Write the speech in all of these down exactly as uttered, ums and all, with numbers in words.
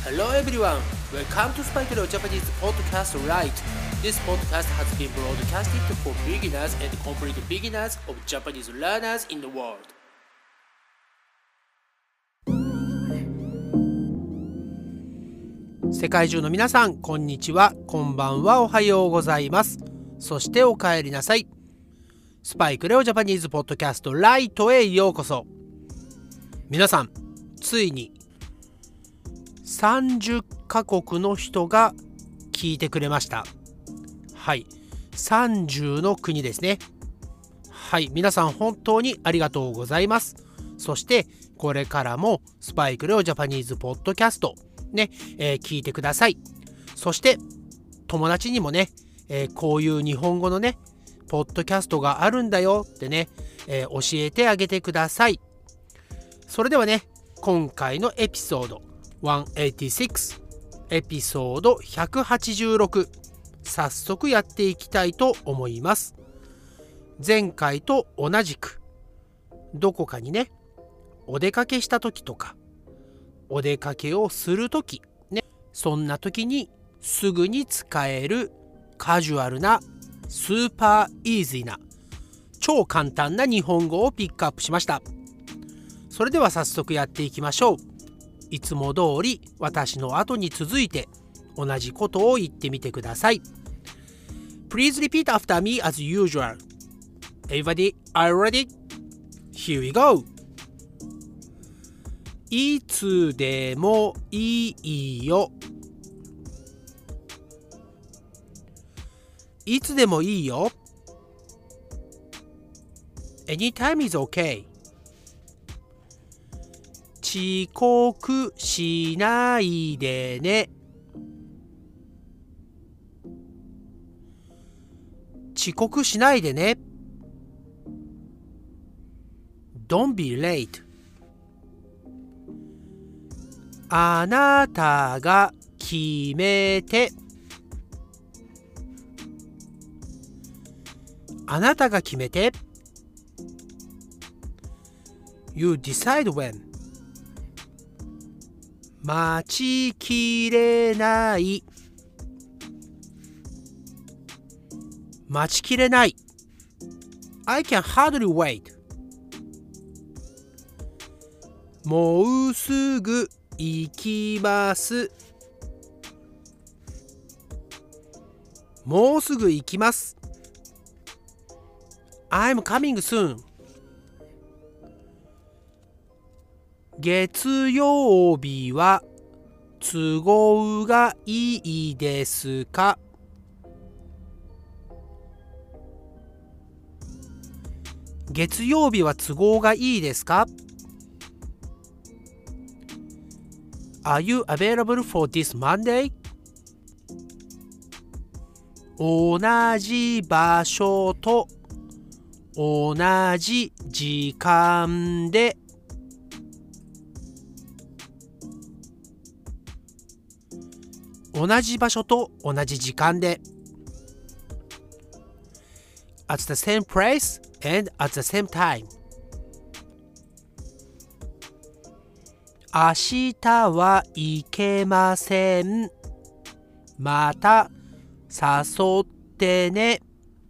Hello everyone, welcome to Spike Leo Japanese Podcast Right. This podcast has been broadcasted for beginners and complete beginners of Japanese learners in the world. 世界中の皆さん、こんにちは、こんばんは、おはようございます。そしてお帰りなさい。スパイクレオジャパニーズポッドキャストライトへようこそ。皆さん、ついにさんじゅっカ国の人が聞いてくれました。はい、さんじゅうの国ですね。はい、皆さん本当にありがとうございます。そしてこれからもスパイクレオジャパニーズポッドキャストね、えー、聞いてください。そして友達にもね、えー、こういう日本語のねポッドキャストがあるんだよってね、えー、教えてあげてください。それではね、今回のエピソードひゃくはちじゅうろく、エピソードひゃくはちじゅうろく、早速やっていきたいと思います。前回と同じくどこかにねお出かけした時とかお出かけをする時ね、そんな時にすぐに使えるカジュアルなスーパーイージーな超簡単な日本語をピックアップしました。それでは早速やっていきましょう。いつも通り私の後に続いて同じことを言ってみてください。 Please repeat after me as usual. Everybody, are you ready? Here we go. いつでもいいよ。いつでもいいよ。 Anytime is okay. 遅刻しないでね。遅刻しないでね。 Don't be late. あなたが決めて。あなたが決めて。 You decide when. 待ちきれない。待ちきれない。 I can hardly wait. もうすぐ行きます。もうすぐ行きます。 I'm coming soon. 月曜日は都合がいいですか？月曜日は都合がいいですか？ Are you available for this Monday? 同じ場所と同じ時間で。同じ場所と同じ時間で。 At the same place and at the same time. 明日は行けません。また誘ってね。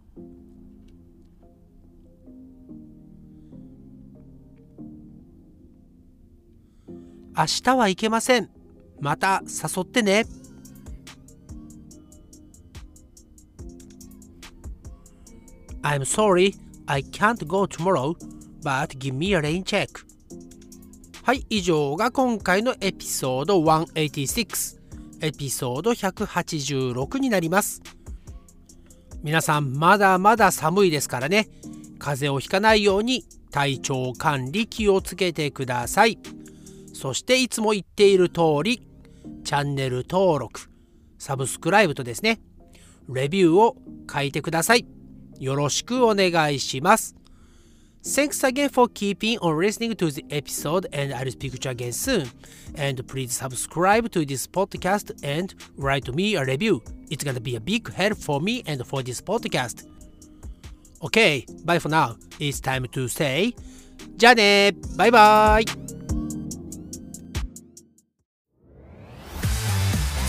明日は行けません。また誘ってね。I'm sorry, I can't go tomorrow, but give me a rain check. はい、以上が今回のエピソードひゃくはちじゅうろく、エピソードひゃくはちじゅうろくになります。皆さんまだまだ寒いですからね、風邪をひかないように体調管理気をつけてください。そしていつも言っている通り、チャンネル登録、サブスクライブとですね、レビューを書いてください。よろしくお願いします。Thanks again for keeping on listening to the episode, and I'll speak to you again soon. And please subscribe to this podcast and write me a review. It's gonna be a big help for me and for this podcast. Okay, bye for now. It's time to say じゃあね、バイバイ。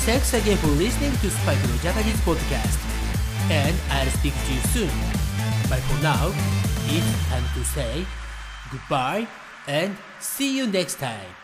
Thanks again for listening to Spike no Japanese podcast. And I'll speak to you soon. But for now, it's time to say goodbye and see you next time.